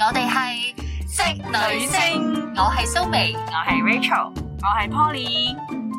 我哋係職女聲，我係蘇眉， 我係 Rachel， 我係 Poly。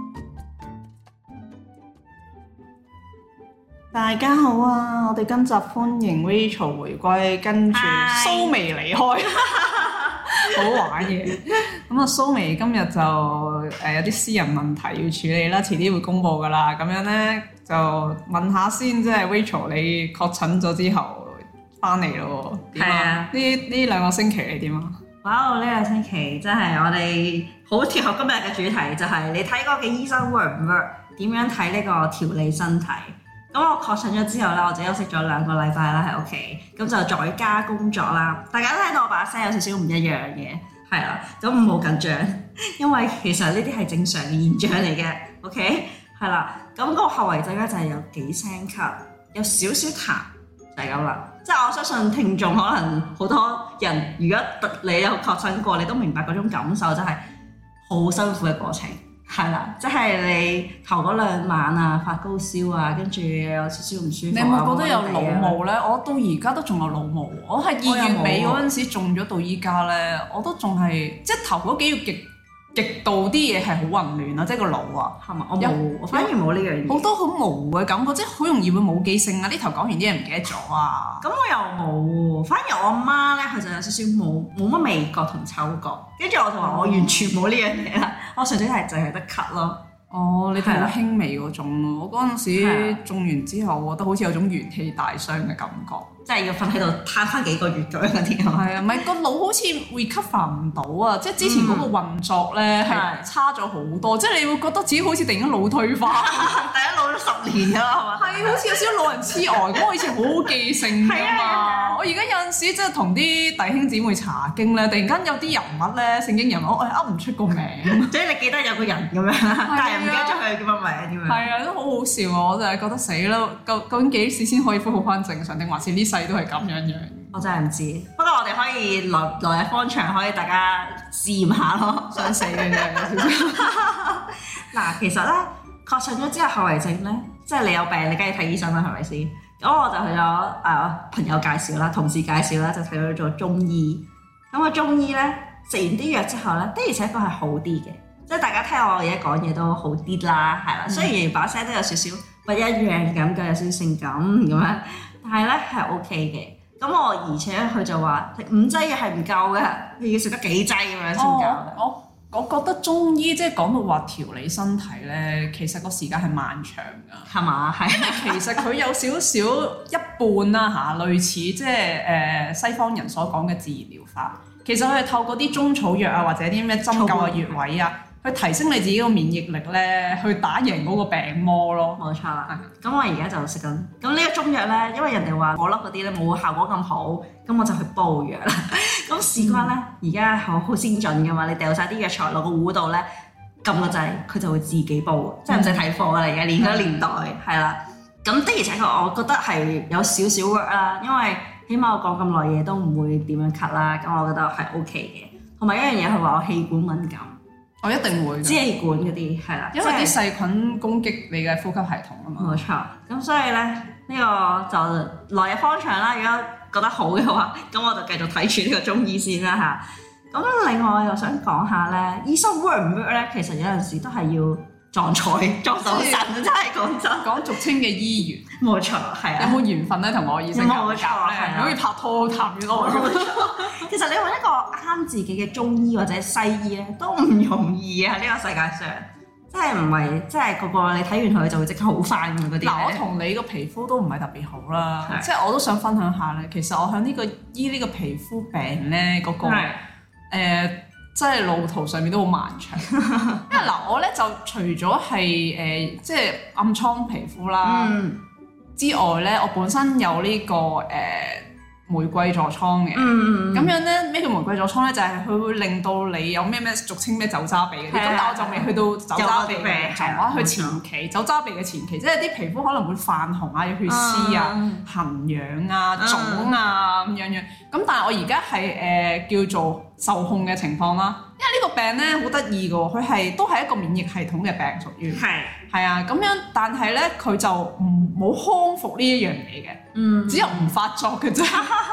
大家好啊！我哋今集歡迎 Rachel 回歸，跟住蘇眉離開，好玩嘅。咁啊，蘇眉今日就有啲私人問題要處理啦，遲啲會公佈噶啦。咁樣咧就問下先，即係 Rachel 你確診咗之後翻嚟咯？點啊？呢兩個星期你點啊？ 哇！呢個星期真係我哋好貼合今日嘅主題，就係你睇嗰個醫生 work 唔 work？ 點樣睇呢個調理身體？咁我確診咗之後咧，我就休息咗2個禮拜啦喺屋企，咁就在家工作啦。大家都聽到我把聲有少少唔一樣嘅，係啦，咁唔好緊張，因為其實呢啲係正常嘅現象嚟嘅。OK， 係啦，咁個後遺症咧就係有幾聲咳，有少少痰，就係咁啦。即係我相信聽眾可能好多人，如果你有確診過，你都明白嗰種感受，就係好辛苦嘅過程。係啦，即係你頭嗰2晚啊，發高燒啊，跟住有少少唔舒服。 你有冇覺得有腦霧咧？我到而家都仲有腦霧。我係2月尾嗰陣時中咗到依家咧，我都仲係即係頭嗰幾個月極度啲嘢係好混亂啊！即係個腦啊，係嘛？我反而冇呢樣嘢，好多好模糊嘅感覺，即係好容易會冇記性啊！呢頭講完啲嘢唔記得咗啊！ 咁我又冇喎，反而我阿媽咧，佢就有少少冇乜味覺同嗅覺，跟住我就話我完全冇呢樣嘢啦，我純粹係淨係得咳咯。 哦，你睇好輕微嗰種咯。我嗰陣時中完之後，我覺得好似有種元氣大傷嘅感覺， 即係要瞓喺度攤翻幾個月咁樣嗰啲。 係啊，唔係個腦好似 recover 唔到啊！即係之前嗰個運作咧係差咗好多，即係你會覺得自己好似突然間腦退化， 第一老咗10年啦，係嘛？ 係好似有少少老人痴呆咁。我以前好好記性㗎嘛，我而家有陣時即係同啲弟兄姊妹查經咧，突然間有啲人物咧，聖經人物，我係噏唔出個名， 即係你記得有個人咁樣，但係唔記得咗佢叫乜名點樣？ 係啊，都好好笑啊！我就係覺得死啦，究竟幾時先可以恢復翻正常，定還是呢世都係咁樣樣？ 我真係唔知。不過我哋可以來日方長，可以大家試驗下咯。 想死嘅啫，有少少。 嗱，其實咧確診咗之後後遺症咧，即係你有病，你梗係睇醫生啦，係咪先？咁我就去咗朋友介紹啦，同事介紹啦，就睇咗做中醫。咁個中醫咧食完啲藥之後咧，的而且確係好啲嘅。即係大家聽我而家講嘢都好啲啦，係啦。雖然把聲都有少少不一樣咁，有少少性感咁樣，但係咧係 OK 嘅。咁而且佢就話食5劑嘅係唔夠嘅，你要食得幾劑咁樣先夠。 我覺得中醫即係講到話調理身體咧，其實個時間係漫長㗎， 係嘛？係。 其實佢有少少一半啦嚇，類似即係西方人所講嘅自然療法。其實佢係透過啲中草藥啊，或者啲咩針灸啊、穴位啊，去提升你自己個免疫力咧，去打贏嗰個病魔咯。 冇錯啦。咁我而家就食緊。咁呢個中藥咧，因為人哋話我粒嗰啲咧冇效果咁好，咁我就去煲藥啦。咁事關咧，而家好先進噶嘛，你掉晒啲藥材落個壺度咧，撳個掣，佢就會自己煲，即係唔使睇貨啦。而家呢個年代係啦。咁的而且確，我覺得係有少少 work 啦，因為起碼我講咁耐嘢都唔會點樣咳啦。咁我覺得係 OK 嘅。同埋一樣嘢，佢話我氣管敏感。 我一定會支氣管嗰啲係啦， 因為啲細菌攻擊你嘅呼吸系統啊嘛。 冇錯，咁所以咧呢個就來日方長啦。如果覺得好嘅話，咁我就繼續睇住呢個中醫先啦嚇。咁另外又想講下咧，醫生 work 唔 work 咧？其實有陣時都係要撞彩撞到神，真係講真。 講俗稱嘅醫緣， 冇錯，係啊。 有冇緣分咧？同我醫生夾夾咧，好似拍拖談戀愛咁。 其實你揾一個啱自己嘅中醫或者西醫咧，都唔容易啊！呢個世界上，真係唔係，即係個你睇完佢就會即刻好翻嘅嗰啲。 嗱，我同你個皮膚都唔係特別好啦，即係我都想分享下咧。其實我喺呢個醫呢個皮膚病咧，嗰個即係路途上面都好漫長。因為嗱，我咧就除咗係即係暗瘡皮膚啦之外咧，我本身有呢個玫瑰痤瘡嘅，咁樣咧咩叫玫瑰痤瘡咧？就係佢會令到你有咩俗稱咩酒渣鼻嗰啲，咁但係我就未去到酒渣鼻嘅狀況，去前期酒渣鼻嘅前期，即係啲皮膚可能會泛紅啊、有血絲啊、痕癢啊、腫啊咁樣樣。咁但係我而家係叫做受控嘅情況啦，因為呢個病咧好得意嘅喎，佢都係一個免疫系統嘅病，屬於係啊咁樣，但係咧佢就冇康復呢一樣嘢嘅，只有唔發作嘅啫。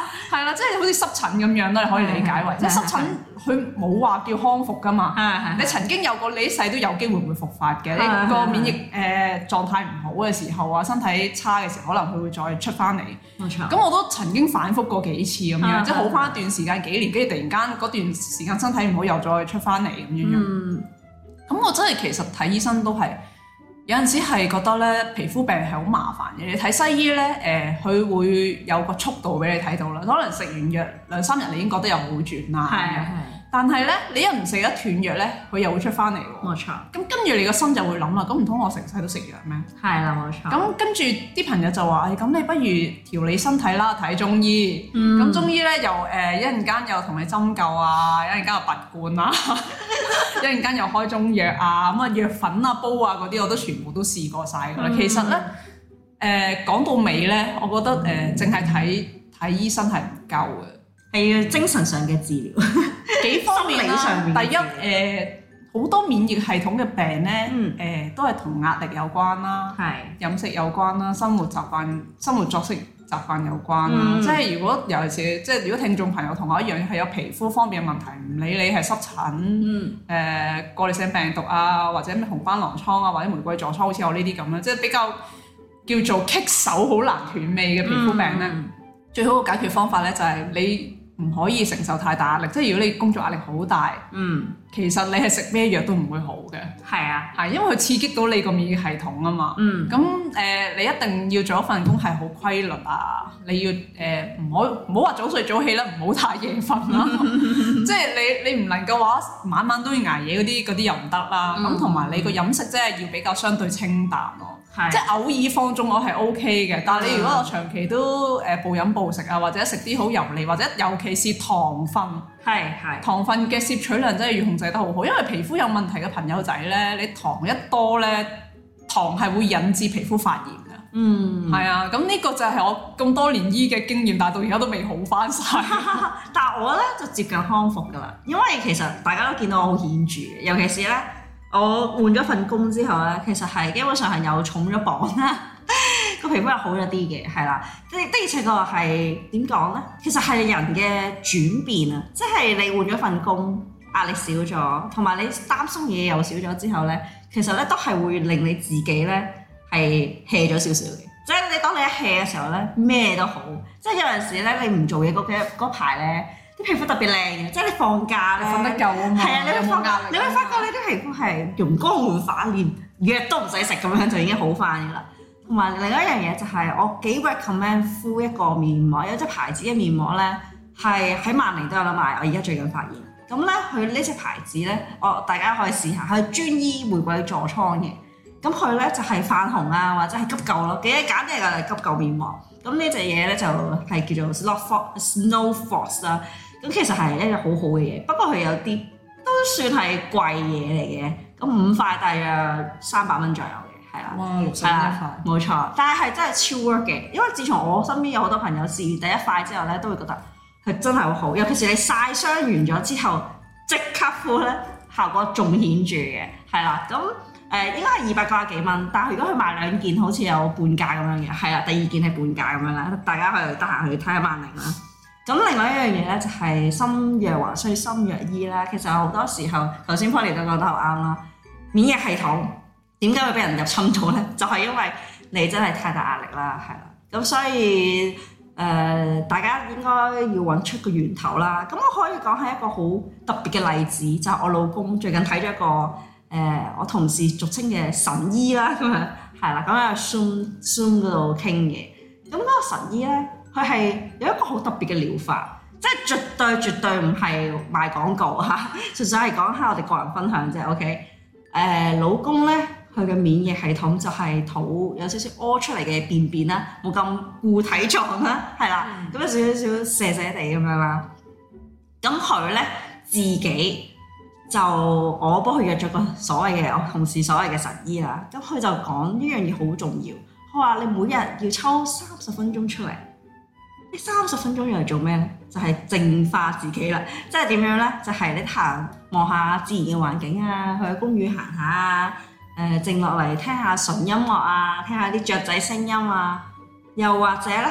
係啦，即係好似濕疹咁樣啦，你可以理解為，即係濕疹佢冇話叫康復噶嘛。你曾經有過，你一世都有機會會復發嘅。你個免疫狀態唔好嘅時候啊，身體差嘅時候，可能佢會再出翻嚟。冇錯。咁我都曾經反覆過幾次咁樣，即係好翻一段時間幾年，跟住突然間嗰段時間身體唔好，又再出翻嚟咁樣。咁我真係其實睇醫生都係。有陣時係覺得咧皮膚病係好麻煩嘅，你睇西醫咧佢會有個速度俾你睇到啦，可能食完藥2-3日你已經覺得有好轉啦。係。但係咧你一唔食一斷藥咧，佢又會出翻嚟喎。冇錯。咁跟住你個心就會諗啦，咁唔通我成世都食藥咩？係啦，冇錯。咁跟住啲朋友就話：咁你不如調理身體啦，睇中醫。咁中醫咧又一陣間又同你針灸啊，一陣間又拔罐啊。一陣間又開中藥啊，咁啊藥粉啊煲啊嗰啲我都全部都試過晒㗎啦。其實咧講到尾咧，我覺得淨係睇醫生係唔夠嘅，係要精神上嘅治療幾方面啦。第一好多免疫系統嘅病咧都係同壓力有關啦，飲食有關啦，生活習慣、生活作息習慣有關啦。即係如果尤其是即係如果聽眾朋友同我一樣係有皮膚方面嘅問題，唔理你係濕疹、過濾性病毒啊，或者咩紅斑狼瘡啊，或者玫瑰痤瘡，好似我呢啲咁啦，即係比較叫做棘手好難斷尾嘅皮膚病咧，最好嘅解決方法咧就係你唔可以承受太大壓力。即係如果你工作壓力好大，其實你係食咩藥都唔會好嘅。係啊，係因為佢刺激到你個免疫系統啊嘛。咁你一定要做一份工係好規律啊，你要唔好話早睡早起啦，唔好太夜瞓啦。即係你唔能夠話晚晚都要捱夜嗰啲又唔得啦。咁同埋你個飲食真係要比較相對清淡咯。即係偶爾放縱我係 OK 嘅，但係你如果我長期都暴飲暴食啊，或者食啲好油膩，或者尤其是糖分，糖分嘅攝取量真係要控制得好好，因為皮膚有問題嘅朋友仔咧，你糖一多咧，糖係會引致皮膚發炎嘅。係啊，咁呢個就係我咁多年醫嘅經驗，但係到而家都未好翻晒。 但係我咧就接近康復㗎啦，因為其實大家都見到我好顯著嘅，尤其是咧。我換咗份工之後咧，其實係基本上係又重咗磅啦，個皮膚又好咗啲嘅，係啦。的而且確係點講咧？其實係人嘅轉變啊，即係你換咗份工，壓力少咗，同埋你擔心嘢又少咗之後咧，其實咧都係會令你自己咧係 hea 咗少少嘅。即係你當你一 hea 嘅時候咧，咩都好。即係有陣時咧，你唔做嘢嗰排咧。啲皮膚特別靚嘅，即係你放假咧，瞓得夠啊嘛，係啊，你會發覺你啲皮膚係容光煥發，連藥都唔使食咁樣就已經好翻嘅啦。同埋另一樣嘢就係我幾 recommend 敷一個面膜，有隻牌子嘅面膜咧係喺萬寧都有得賣。我而家最近發現，咁咧佢呢隻牌子咧，大家可以試下，係專醫玫瑰痤瘡嘅。咁佢咧就係泛紅啊，或者係急救咯，幾簡單嘅急救面膜。咁呢隻嘢咧就係叫做 Snow Force 啦。咁其實係一個好好嘅嘢，不過佢有啲都算係貴嘢嚟嘅。咁5塊大約300蚊左右嘅，係啦。哇，61塊，冇錯。但係真係超 work 嘅，因為自從我身邊有好多朋友試完第一塊之後咧，都會覺得係真係好好。尤其是你曬傷完咗之後，即刻敷咧，效果仲顯著嘅，係啦。咁應該係290幾蚊，但係如果佢賣2件，好似有半價咁樣嘅，係啦。第2件係半價咁樣啦，大家可以得閒去睇下萬寧啦。咁另外一樣嘢咧，就係心藥還需心藥醫啦。其實好多時候，頭先 Polly 都講得好啱啦。免疫系統點解會俾人入侵咗咧？就係因為你真係太大壓力啦，係啦。咁所以大家應該要揾出個源頭啦。咁我可以講係一個好特別嘅例子，就係我老公最近睇咗一個我同事俗稱嘅神醫啦，咁樣係啦，咁喺 Zoom 嗰度傾嘅。咁嗰個神醫咧，佢係有一個好特別嘅療法，即係絕對唔係賣廣告嚇，純粹係講下我哋個人分享啫。OK，老公咧，佢嘅免疫系統就係肚有少少屙出嚟嘅便便啦，冇咁固體狀啦，係啦，咁有少少瀉瀉地咁樣啦。咁佢咧自己就我幫佢約咗個所謂嘅我同事所謂嘅神醫啦。咁佢就講呢樣嘢好重要，佢話你每日要抽30分鐘出嚟。呢30分鐘用嚟做咩咧？就係淨化自己啦。即係點樣咧？就係你行望下自然嘅環境啊，去公園行下啊，靜落嚟聽下純音樂啊，聽下啲雀仔聲音啊。又或者咧，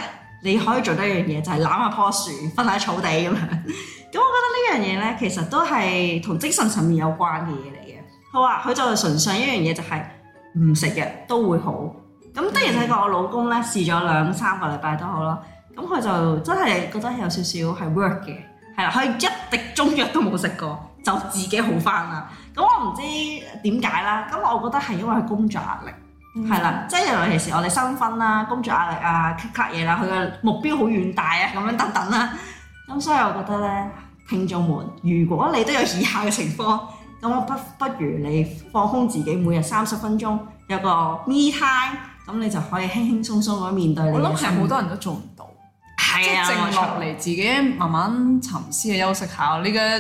你可以做得一樣嘢，就係攬下棵樹，瞓喺草地咁樣。咁我覺得呢樣嘢咧，其實都係同精神層面有關嘅嘢嚟嘅。佢話佢就純粹一樣嘢，就係唔食嘅都會好。咁的而且確，我老公咧試咗2-3個禮拜都好啦。咁佢就真係覺得有少少係 work 嘅，係啦，佢一滴中藥都冇食過，就自己好翻啦。咁我唔知點解啦。咁我覺得係因為佢工作壓力，係啦，即係尤其是我哋新婚啦，工作壓力啊，咳嘢啦，佢嘅目標好遠大啊，咁樣等等啦。咁所以我覺得咧，聽眾們，如果你都有以下嘅情況，咁我不如你放空自己，每日30分鐘有個 me time，咁你就可以輕輕鬆鬆咁面對你嘅生活。我諗係好多人都做唔到， 係啊， 即係靜落嚟自己慢慢沉思嘅休息下。你嘅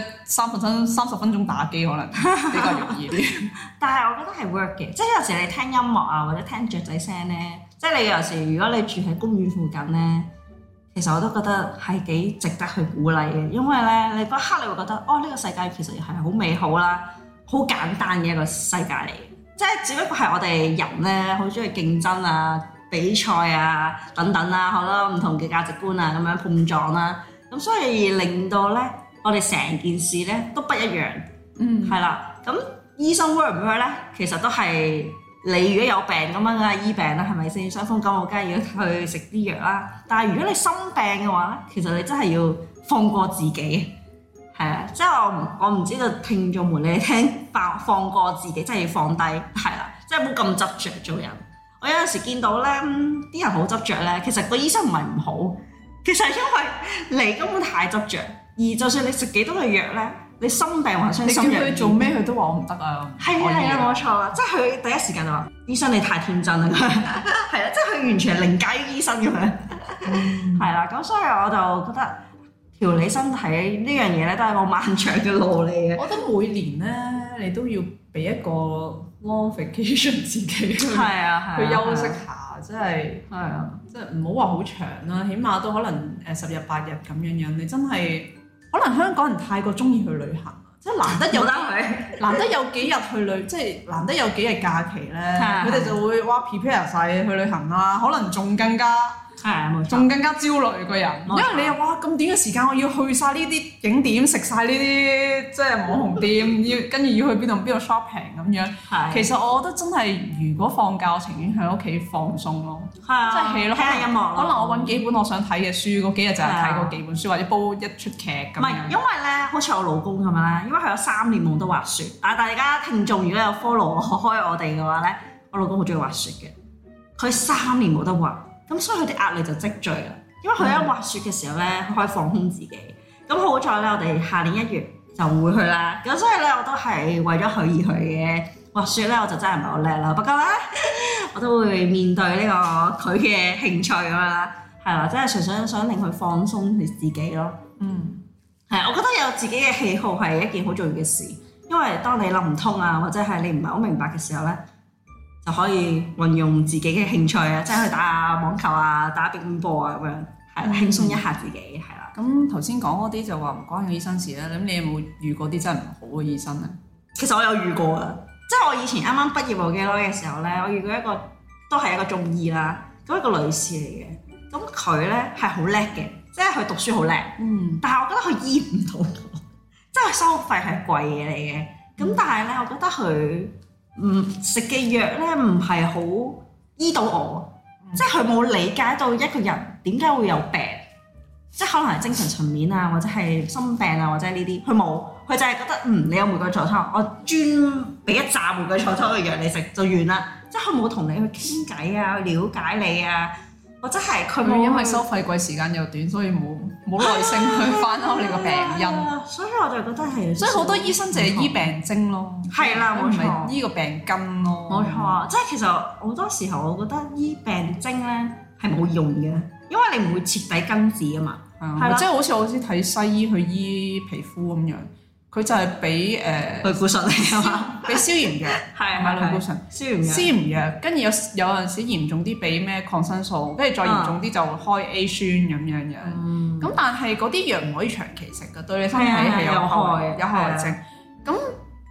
30分鐘打機可能比較容易啲。 但係我覺得係 work 嘅，即係有時你聽音樂啊，或者聽雀仔聲咧，即係你有時如果你住喺公園附近咧。其實我都覺得係幾值得去鼓勵嘅，因為咧你嗰刻你會覺得哦，呢個世界其實係好美好啦，好簡單嘅一個世界嚟嘅，即係只不過係我哋人咧好中意競爭啊、比賽啊等等啦，好多唔同嘅價值觀啊咁樣碰撞啦，咁所以令到咧我哋成件事咧都不一樣，係啦，咁醫生 work 唔 work 咧，其實都係。你如果有病咁樣梗係醫病啦，係咪先？傷風感冒梗係要去食啲藥啦。但係如果你生病嘅話咧，其實你真係要放過自己，係啊！即係我唔知道聽眾們你聽放過自己，真係要放低，係啦，即係唔好咁執着做人。我有陣時見到咧，啲人好執着咧，其實個醫生唔係唔好，其實因為你根本太執着，而就算你食幾多嘅藥咧。你心病或者心藥，你叫佢做咩佢都話我唔得啊！係啊，冇錯啦，即係佢第一時間就話：醫生你太天真啦！係啊，即係佢完全係凌駕於醫生咁樣。係啦，咁所以我就覺得調理身體呢樣嘢咧，都係個漫長嘅路嚟嘅。我覺得每年咧，你都要俾一個 long vacation 自己去休息下，即係即係唔好話好長啦，起碼都可能10日8日咁樣樣。你真係〜可能香港人太過中意去旅行，即係難得有幾日去旅，即係難得有幾日假期咧，佢哋就會哇 prepare 晒去旅行啦，可能仲更加仲更加焦慮個人，因為你又哇咁短嘅時間，我要去晒呢啲景點，食晒呢啲即係網紅店，跟住要去邊度 shopping 咁樣。其實我覺得真係，如果放假，我情願喺屋企放鬆咯，即係戲咯，聽下音樂。可能我揾幾本我想睇嘅書，嗰幾日就係睇嗰幾本書，或者煲一出劇咁樣。唔係，因為咧，好似我老公咁樣咧，因為佢有3年冇得滑雪。大家聽眾如果有 follow 開我哋嘅話咧，我老公好中意滑雪嘅，佢3年冇得滑。咁所以佢哋壓力就積聚啦，因為佢喺滑雪嘅時候咧，佢可以放空自己。咁好在咧，我哋下年1月就會去啦。咁所以咧，我都係為咗佢而去嘅。滑雪咧，我就真係唔係好叻啦。不過咧，我都會面對呢個佢嘅興趣咁樣啦。係啦，即係純粹想令佢放鬆佢自己咯。係，我覺得有自己嘅喜好係一件好重要嘅事，因為當你諗唔通啊，或者係你唔係好明白嘅時候咧，就可以運用自己嘅興趣啊，即係去打下網球啊，打乒乓波啊咁樣，係輕鬆一下自己，係啦。咁頭先講嗰啲就話唔關個醫生事啦。咁你有冇遇過啲真係唔好嘅醫生咧？其實我有遇過啊，即係我以前啱啱畢業冇幾耐嘅時候咧，我遇過一個都係一個中醫啦，咁一個女士嚟嘅。咁佢咧係好叻嘅，即係佢讀書好叻，但係我覺得佢醫唔到我，即係收費係貴嘢嚟嘅。咁但係咧，我覺得佢食嘅藥咧唔係好醫到我，即係佢冇理解到一個人點解會有病，即係可能係精神層面啊，或者係心病啊，或者呢啲，佢冇，佢就係覺得你有玫瑰痤瘡，我專俾一紮玫瑰痤瘡嘅藥你食就完啦，即係佢冇同你去傾偈啊，去了解你啊，或者係佢冇因為收費貴時間又短，所以冇耐性去翻開你個病因，所以我就覺得係，所以好多醫生就係醫病徵咯，係啦，冇錯，醫個病根咯，冇錯，即係其實好多時候我覺得醫病徵咧係冇用嘅，因為你唔會徹底根治啊嘛，係啦，即係好似我先睇西醫去醫皮膚咁樣。佢就係俾類固醇嚟啊嘛，俾消炎藥，係咪類固醇？消炎藥，跟住有陣時嚴重啲俾咩抗生素，跟住再嚴重啲就開 A 酸咁樣樣。咁但係嗰啲藥唔可以長期食㗎，對你身體係有害症。咁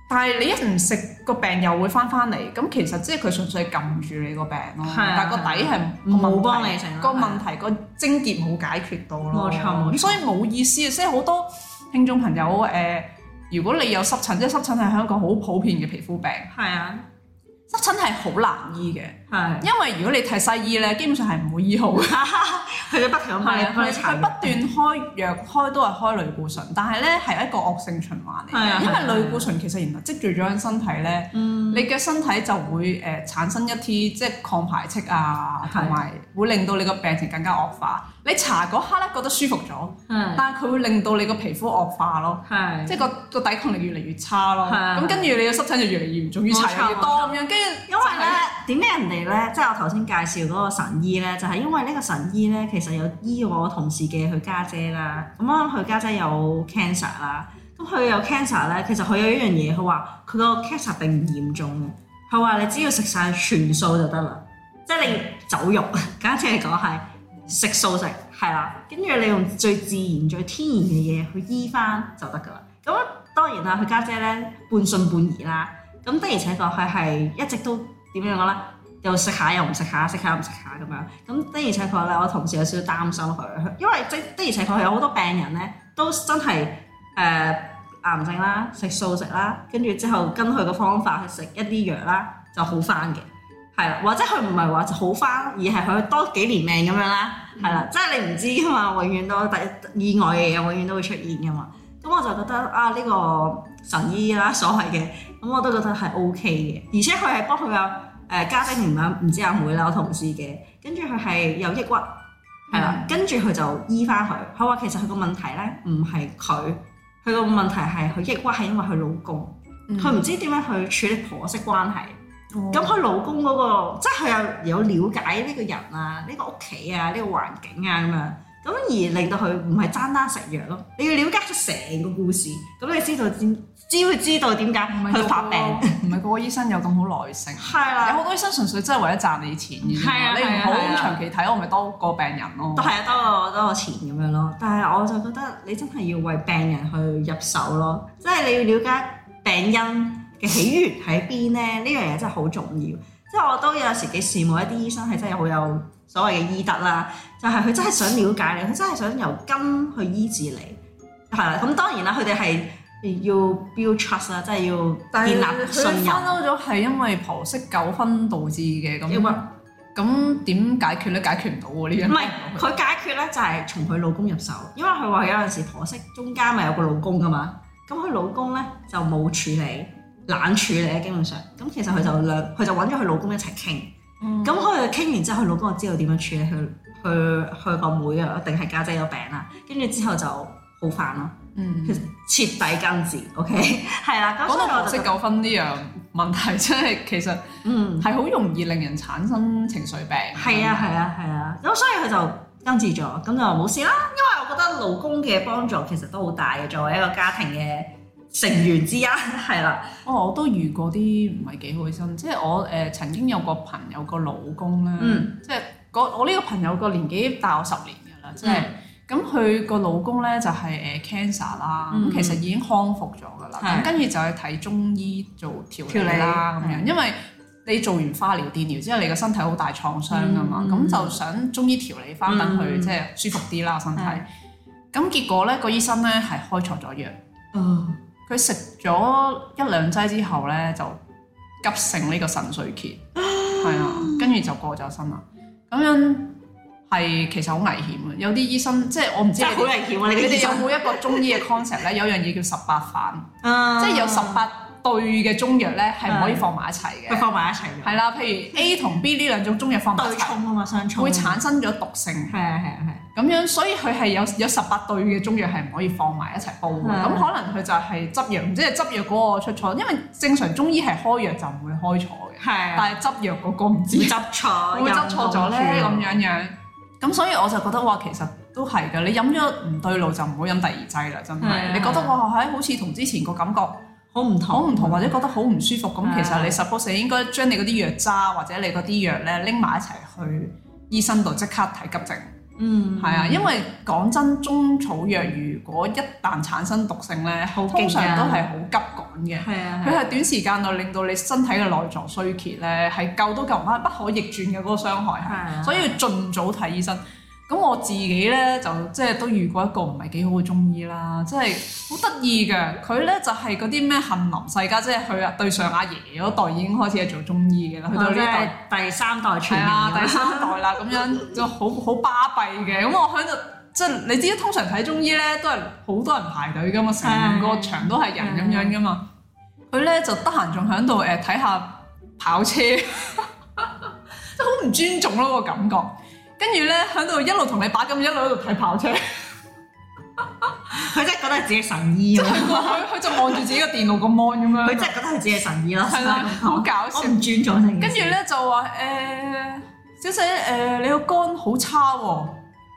但係你一唔食個病又會翻嚟，咁其實即係佢純粹係撳住你個病咯，但係個底係冇幫你成個問題個症結冇解決到咯。 冇錯， 咁所以冇意思啊！即係好多聽眾朋友如果你有濕疹，即係濕疹係一個好普遍嘅皮膚病。 係啊。 濕疹係好難醫嘅， 係因為如果你睇西醫咧，基本上係唔會醫好嘅。 佢哋不停咁幫你佢不斷開藥，開都係開類固醇，但係咧係一個惡性循環嚟嘅。因為類固醇其實原來積聚咗喺身體咧，你嘅身體就會產生一啲即係抗排斥啊，同埋會令到你個病情更加惡化。你搽嗰刻咧覺得舒服咗，但係佢會令到你個皮膚惡化咯，即係個抵抗力越嚟越差咯。咁跟住你嘅濕疹就越嚟越嚴重，越搽越多咁樣。跟住因為咧點解人哋咧，即係我頭先介紹嗰個神醫咧，就係因為呢個神醫咧，其實有醫我同事嘅佢家姐啦。咁啱佢家姐有 cancer 啦，咁佢有 cancer 咧，其實佢有一樣嘢，佢話佢個 cancer 並唔嚴重嘅。佢話你只要食晒全素就得啦，即係你走肉，簡單嚟講係。食素食係啦，跟住你用最自然、最天然嘅嘢去醫翻就得㗎啦。咁當然啦，佢家姐咧半信半疑啦。咁的而且確佢係一直都點樣講咧？又食下又唔食下，食下又唔食下咁樣。咁的而且確咧，我同事有少少擔心佢，因為的而且確有好多病人咧都真係癌症啦，食素食啦，跟住之後跟佢個方法去食一啲藥啦，就好翻嘅。係啦，或者佢唔係話好翻，而係佢多幾年命咁樣啦。係啦，即係你唔知㗎嘛，永遠都意外嘅嘢永遠都會出現㗎嘛。咁我就覺得啊，呢個神醫啦，所謂嘅，咁我都覺得係 OK 嘅。而且佢係幫佢有家姐唔知阿妹啦，我同事嘅，跟住佢係有抑鬱，係啦，跟住佢就醫翻佢。佢話其實佢個問題咧唔係佢個問題係佢抑鬱係因為佢老公，佢唔知點樣去處理婆媳關係。咁佢老公嗰個，即係佢有了解呢個人啊，呢個屋企啊，呢個環境啊咁樣，咁而令到佢唔係單單食藥咯，你要了解出成個故事，咁你知道點解佢發病。 唔係個個醫生有咁好耐性，係啦，有好多醫生純粹真係為咗賺你錢嘅啫，你唔好長期睇我咪多個病人咯。都係啊，多個錢咁樣咯。但係我就覺得你真係要為病人去入手咯，即係你要了解病因嘅起源喺邊咧？呢樣嘢真係好重要。即係我都有時幾羨慕一啲醫生係真係好有所謂嘅醫德啦，就係佢真係想了解你，佢真係想由根去醫治你。係啦，咁當然啦，佢哋係要 build trust 啦，即係要建立信任。佢翻嬲咗係因為婆媳糾紛導致嘅咁點解決咧？解決唔到喎呢樣。唔係佢解決咧，就係從佢老公入手，因為佢話有陣時婆媳中間咪有個老公噶嘛，咁佢老公咧就冇處理。冷處理基本上，咁其實佢就揾咗佢老公一齊傾，咁佢傾完之後，佢老公就知道點樣處理佢個妹啊，定係家姐有病啦，跟住之後就好翻咯，徹底根治 ，OK， 係啦。講到婆媳糾紛呢樣問題，真係其實係好容易令人產生情緒病。係啊，咁所以佢就根治咗，咁就冇事啦。因為我覺得老公嘅幫助其實都好大嘅，作為一個家庭嘅成員之一，係啦。我都遇過啲唔係幾開心，即係我曾經有個朋友個老公咧，即係我呢個朋友個年紀大我10年㗎啦，即係咁佢個老公咧就係cancer 啦，咁其實已經康復咗㗎啦，咁跟住就去睇中醫做調理啦咁樣，因為你做完化療、電療之後，你個身體好大創傷㗎嘛，咁就想中醫調理翻，等佢即係舒服啲啦身體。咁結果咧個醫生咧係開錯咗藥。佢食咗1-2劑之後咧，就急性呢個腎衰竭，係啊，跟住就過咗身啦。咁樣係其實好危險嘅，有啲醫生即係我唔知。真係好危險啊！你哋有冇一個中醫嘅 concept 咧？有樣嘢叫18反，即係有18對嘅中藥咧，係唔可以放埋一齊嘅。佢放埋一齊嘅。係啦，譬如 A 同 B 呢兩種中藥放埋一齊，對沖啊嘛，相沖會產生咗毒性。係。咁樣，所以佢係有18對嘅中藥係唔可以放埋一齊煲嘅。咁可能佢就係執藥，唔知係執藥嗰個出錯，因為正常中醫係開藥就唔會開錯嘅。係。但係執藥嗰個唔知執錯，會執錯咗咧咁樣。咁所以我就覺得哇，其實都係㗎。你飲咗唔對路就唔好飲第二劑啦，真係。你覺得哇，好似同之前個感覺好唔同，或者覺得好唔舒服咁，其實你 suppose 應該將你嗰啲藥渣或者你嗰啲藥咧拎埋一齊去醫生度即刻睇急症。 係啊，因為講真，中草藥如果一旦產生毒性咧，通常都係好急趕嘅。係啊，佢係短時間內令到你身體嘅內臟衰竭咧，係救都救唔翻，不可逆轉嘅嗰個傷害係，所以要盡早睇醫生。咁我自己咧就即係都遇過一個唔係幾好嘅中醫啦，即係好得意嘅。佢咧就係嗰啲咩杏林世家，即係佢對上阿爺嗰代已經開始係做中醫嘅啦，去到呢代第三代傳人，係啊，第三代啦，咁樣就好巴閉嘅。咁我喺度即係你知，通常睇中醫咧都係好多人排隊噶嘛，成個場都係人咁樣噶嘛。佢咧就得閒仲喺度睇下跑車，即係好唔尊重咯個感覺。跟住咧喺度一路同你把咁，一路喺度睇跑車。佢真係覺得係自己神醫啊！佢就望住自己個電腦個 mon 咁樣。佢真係覺得係自己神醫咯。係啦，好搞笑。我唔尊重你。跟住咧就話小姐你個肝好差喎，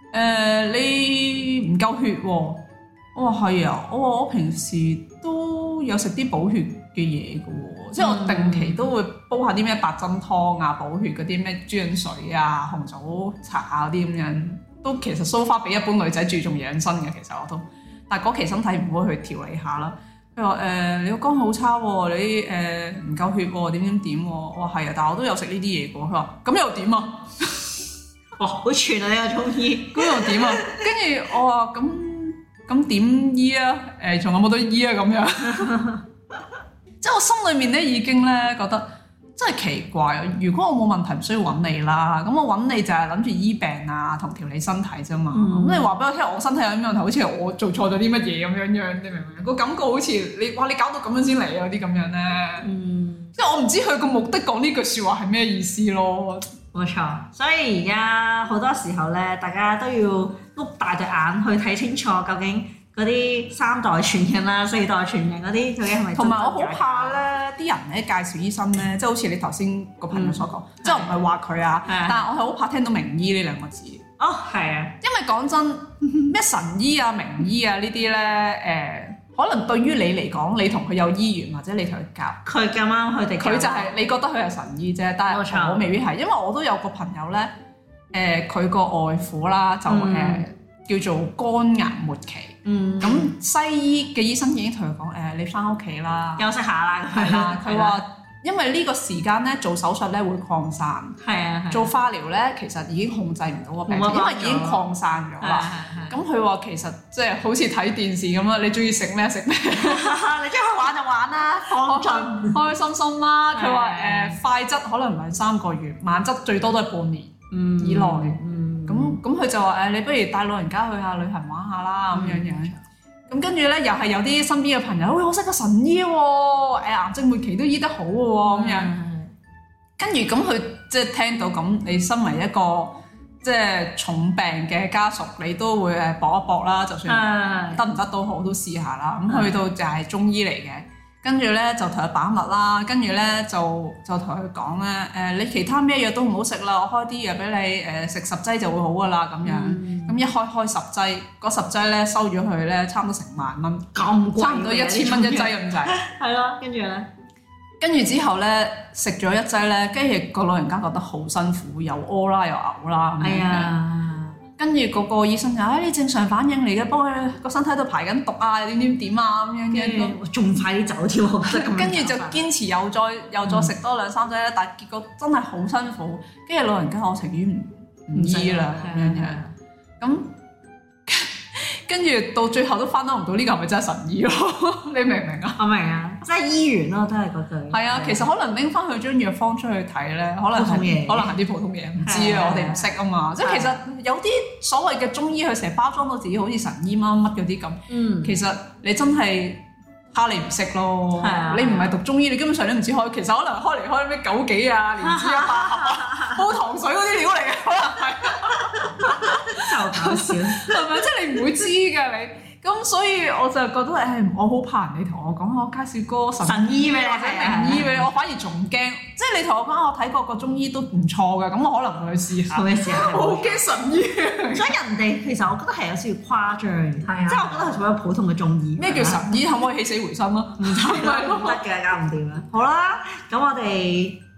你唔夠血喎。我話係啊，我平時都有食啲補血嘅嘢嘅喎，即係我定期都會煲下啲咩白針湯啊，補血嗰啲咩豬潤水啊、紅棗茶啊嗰啲咁樣，都其實 so far 比一般女仔注重養生嘅，其實我都，但係嗰期身體唔會去調理下啦。佢話你個肝好差喎，你唔夠血喎，點喎？我話係啊，但係我都有食呢啲嘢嘅喎。佢話咁又點啊？哇，好串啊！呢個中醫，咁又點啊？跟住我話咁點醫啊？仲有冇得醫啊？咁樣，即係我心裏面咧已經咧覺得真係奇怪啊！如果我冇問題，唔需要揾你啦。咁我揾你就係諗住醫病啊，同調理身體啫嘛。咁你話俾我聽，我身體有啲問題，好似我做錯咗啲乜嘢咁樣，你明唔明？個感覺好似你搞到咁樣先嚟啊！啲咁樣咧，即係我唔知佢個目的講呢句説話係咩意思咯。冇錯，所以而家好多時候咧，大家都要碌大對眼去睇清楚，究竟嗰啲三代傳人啦、四代傳人嗰啲究竟係咪？同埋我好怕咧，啲人咧介紹醫生咧，即係好似你頭先個朋友所講，即係我唔係話佢啊，但係我係好怕聽到名醫呢兩個字。哦，係啊，因為講真，咩神醫啊、名醫啊呢啲咧，可能對於你嚟講，你同佢有醫緣，或者你同佢夾，佢咁啱佢哋，佢就係你覺得佢係神醫啫，但係我未必係，因為我都有個朋友咧，佢個外父啦就叫做肝癌末期，咁西醫嘅醫生已經同佢講你翻屋企啦，休息下啦，係啦，佢話因為呢個時間咧做手術咧會擴散，係啊，做化療咧其實已經控制唔到個病情，因為已經擴散咗啦。咁佢話其實即係好似睇電視咁啦，你中意食咩食咩，你中意去玩就玩啦，放盡開心心啦。佢話快則可能2-3個月，慢則最多都係半年以內。咁佢就話你不如帶老人家去下旅行玩下啦咁樣樣。咁跟住咧，又係有啲身邊嘅朋友，我識個神醫喎，癌症末期都醫得好嘅喎，咁樣。跟住咁佢即係聽到咁，你身為一個即係重病嘅家屬，你都會搏一搏啦，就算得唔得都好，都試下啦。咁去到就係中醫嚟嘅，跟住咧就同佢把脈啦，跟住咧就同佢講咧，你其他咩藥都唔好食啦，我開啲藥俾你，食10劑就會好噶啦，咁樣。咁一開10劑，嗰10劑咧收咗佢咧，差唔多成萬蚊，咁貴，差唔多1000蚊一劑咁滯。係咯，跟住之後咧食咗一劑咧，跟住個老人家覺得好辛苦，又屙啦又嘔啦咁樣。跟住嗰個醫生就你正常反應嚟嘅，幫佢個身體度排緊毒啊，點啊咁樣嘅，仲快啲走添，我覺得咁。跟住就堅持又再食多2-3劑咧，但係結果真係好辛苦。跟住老人家我情願唔醫啦咁樣。咁跟住到最後都翻得唔到，呢個係咪真係神醫咯？你明唔明啊？我明啊，即係醫完咯，都係嗰句。係啊，其實可能拎翻佢張藥方出去睇咧，可能係啲普通嘢，唔知啊，我哋唔識啊嘛。即係其實有啲所謂嘅中醫，佢成日包裝到自己好似神醫乜乜嗰啲咁。其實你真係蝦你唔識咯。你唔係讀中醫，你根本上都唔知開。其實可能開咩枸杞啊、蓮枝啊、百合啊、煲糖水嗰啲料嚟嘅，可能係。就搞笑，係咪？即係你唔會知㗎你，咁所以我就覺得我好怕人哋同我講我介紹個神醫俾你或者名醫俾你，我反而仲驚。即係你同我講我睇過個中醫都唔錯㗎，咁我可能會去試下。我好驚神醫，所以人哋其實我覺得係有少少誇張，即係我覺得係做咗普通嘅中醫。咩叫神醫？可唔可以起死回生咯？唔得嘅，搞唔掂啦。好啦，咁我哋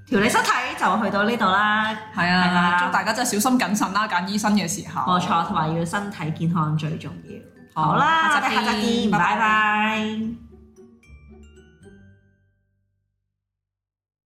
調理身體就去到呢度啦。 係啊，祝大家真係小心謹慎啦，揀醫生嘅時候。 冇錯，同埋要身體健康最重要。 好啦， 我哋下集見，拜拜。